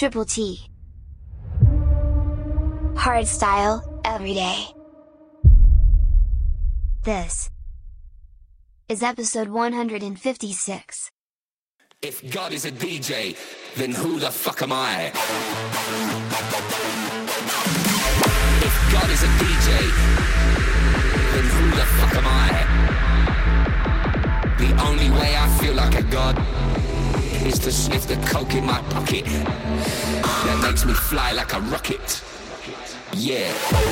Triple T. Hardstyle, every day. This is episode 156. If God is a DJ, then who the fuck am I? If God is a DJ, then who the fuck am I? The only way I feel like a god is to sniff the coke in my pocket. That makes me fly like a rocket. Yeah.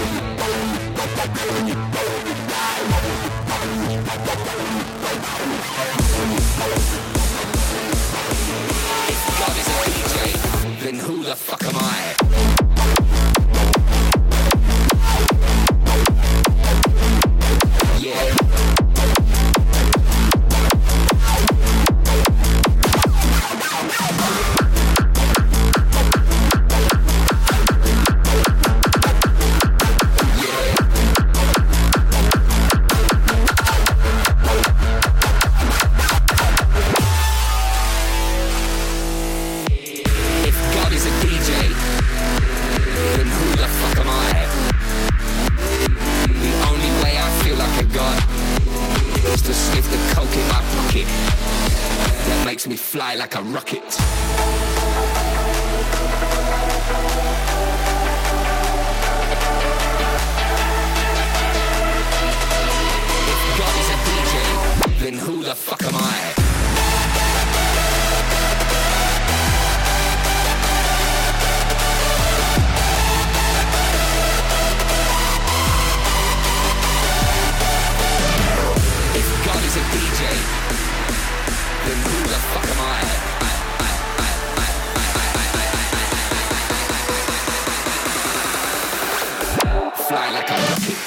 If God is a DJ, then who the fuck am I? Yeah. Makes me fly like a rocket. If God is a DJ, then who the fuck am I? If God is a DJ, then who the fuck am I? Fly like a rocket.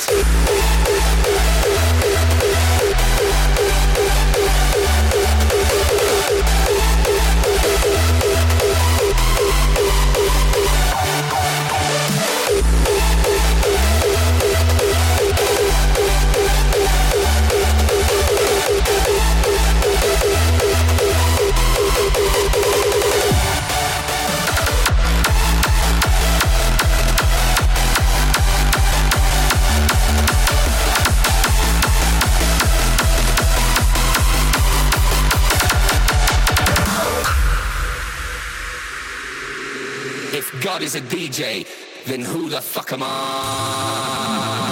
If God is a DJ, then who the fuck am I?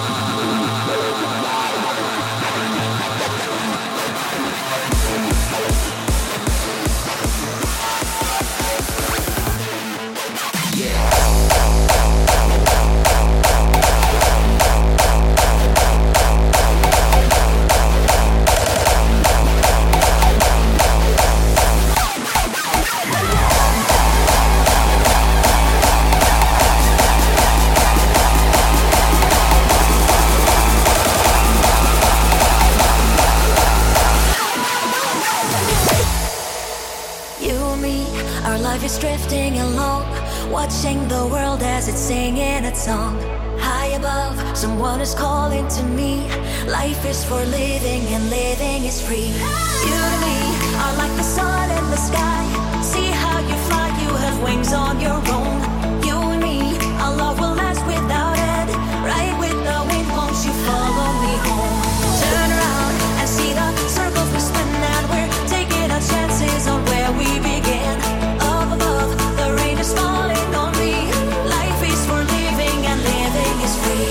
Is drifting along, watching the world as it's singing its song. High above, someone is calling to me. Life is for living and living is free. You and me are like the sun in the sky. See how you fly, you have wings on your own. You and me, our love will last without end. Right with the wind, won't you follow me home? Turn around and see the circles we spin, and we're taking our chances on where we begin. Above, the rain is falling on me. Life is for living and living is free.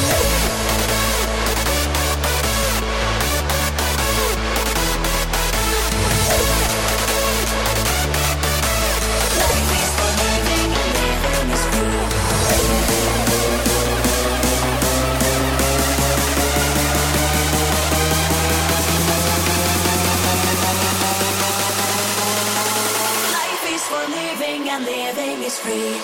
Life is for living and living is free. Living and living is free.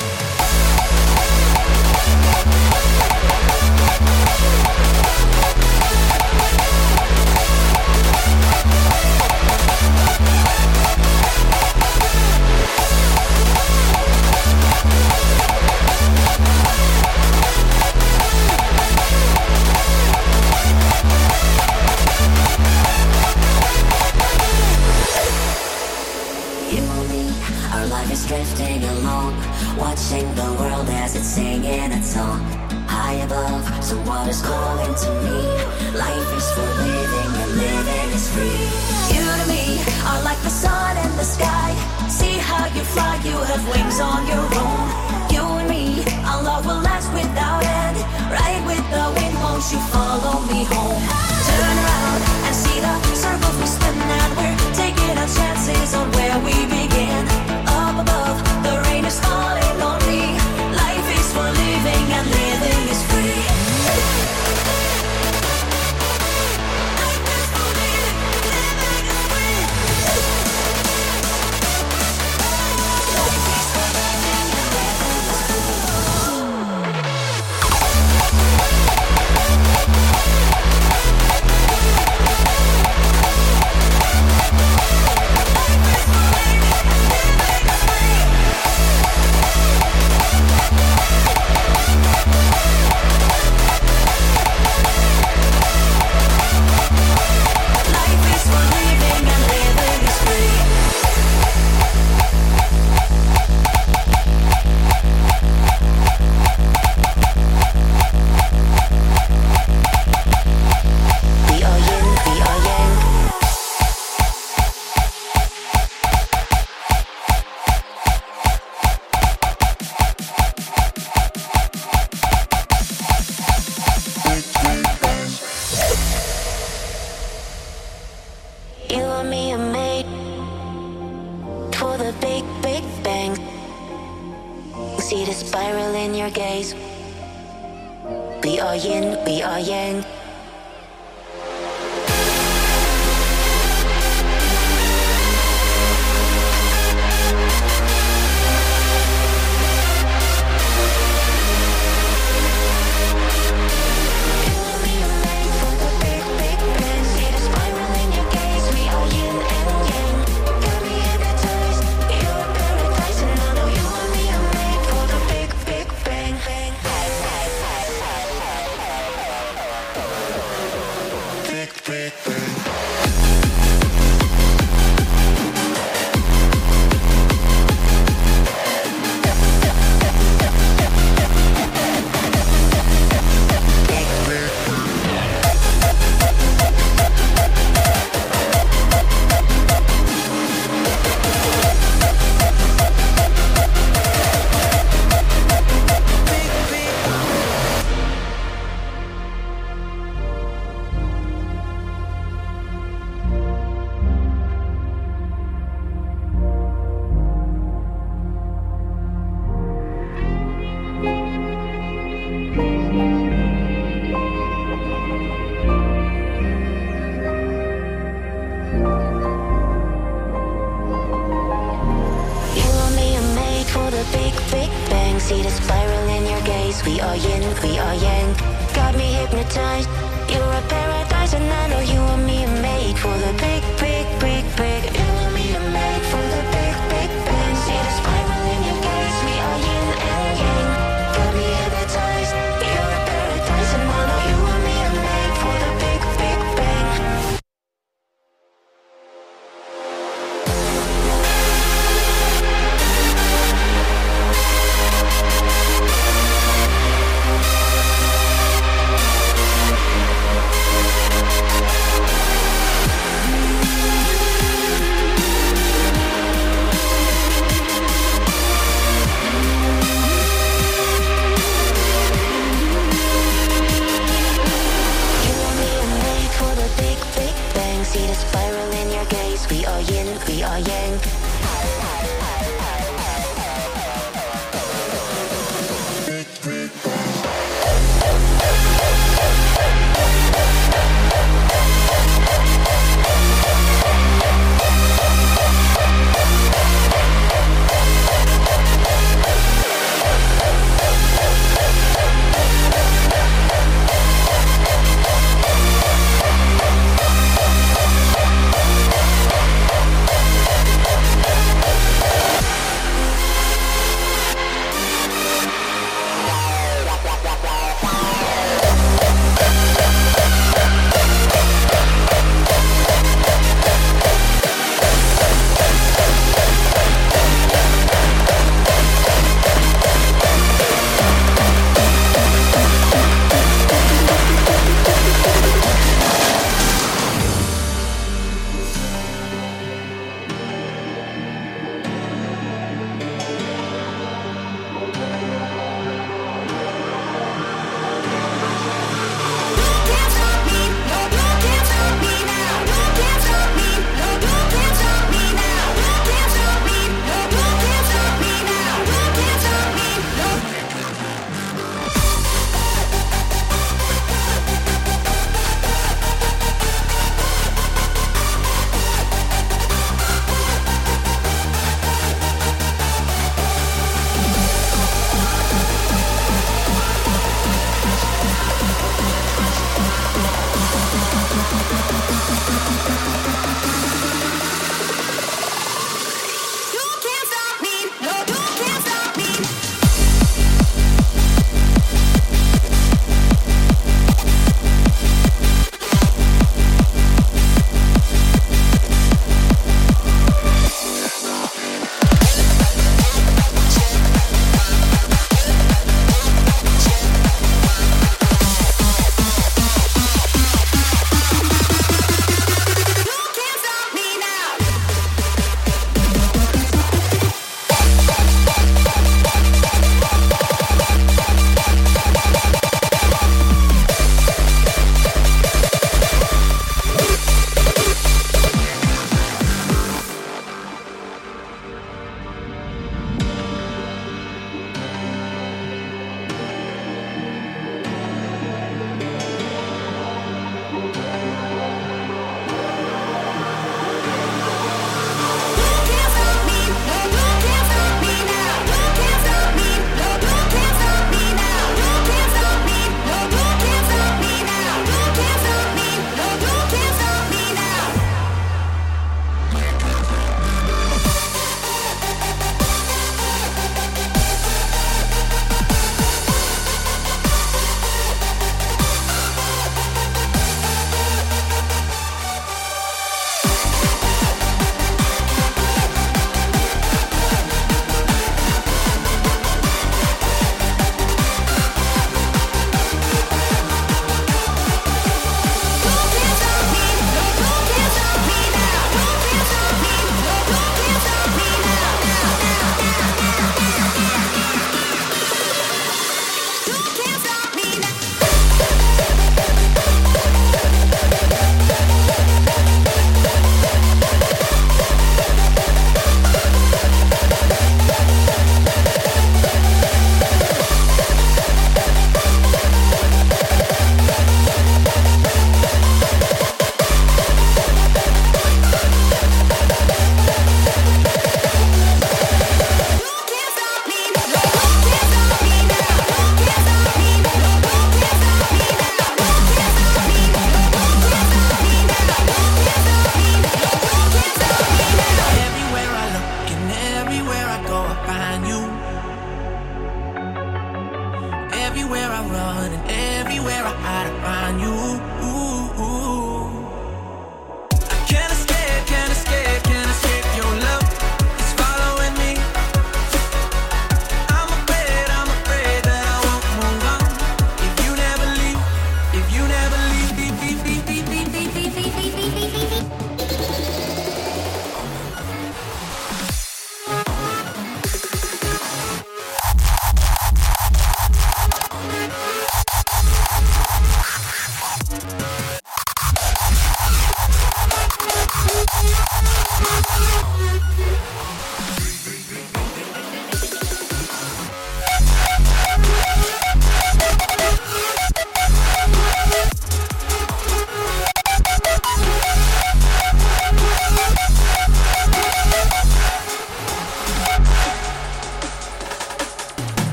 someone is calling to me. Life is for living and living is free. You to me are like the sun and the sky. See how you fly, you have wings on your own. You and me, our love will last without end. Ride with the wind, won't you follow me home? Turn around and see the circles we spin, and we're taking our chances on where we begin. Up above, the rain is falling on me. Life is for living and living is free. Life is for living, living is free. Life is for living and living is free. You and me are made for the big, big bang. See the spiral in your gaze. We are yin, we are yang. See the spiral in your gaze. We are yin, we are yang. Got me hypnotized. You're a paradise, and I know you and me are made for the big, big, big, big. You and me are made for the big, big bang. See the spiral in your gaze. We are yin and yang. Got me hypnotized. You're a paradise, and I know you and me are made for the big, big bang.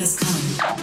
has come.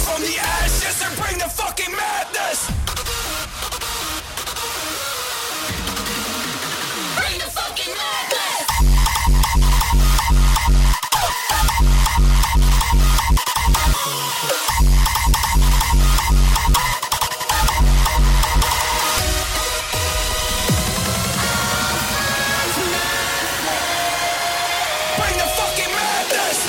from the ashes and bring the fucking madness. Bring the fucking madness. Bring the fucking madness.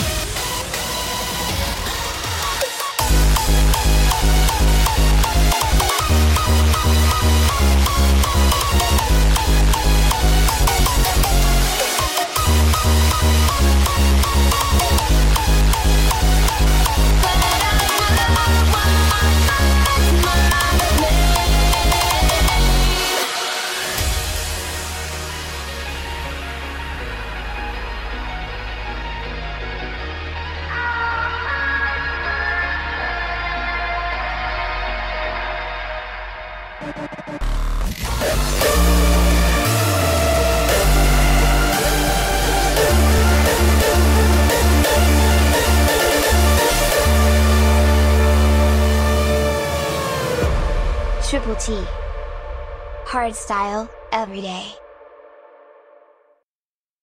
Triple T. Hardstyle, every day.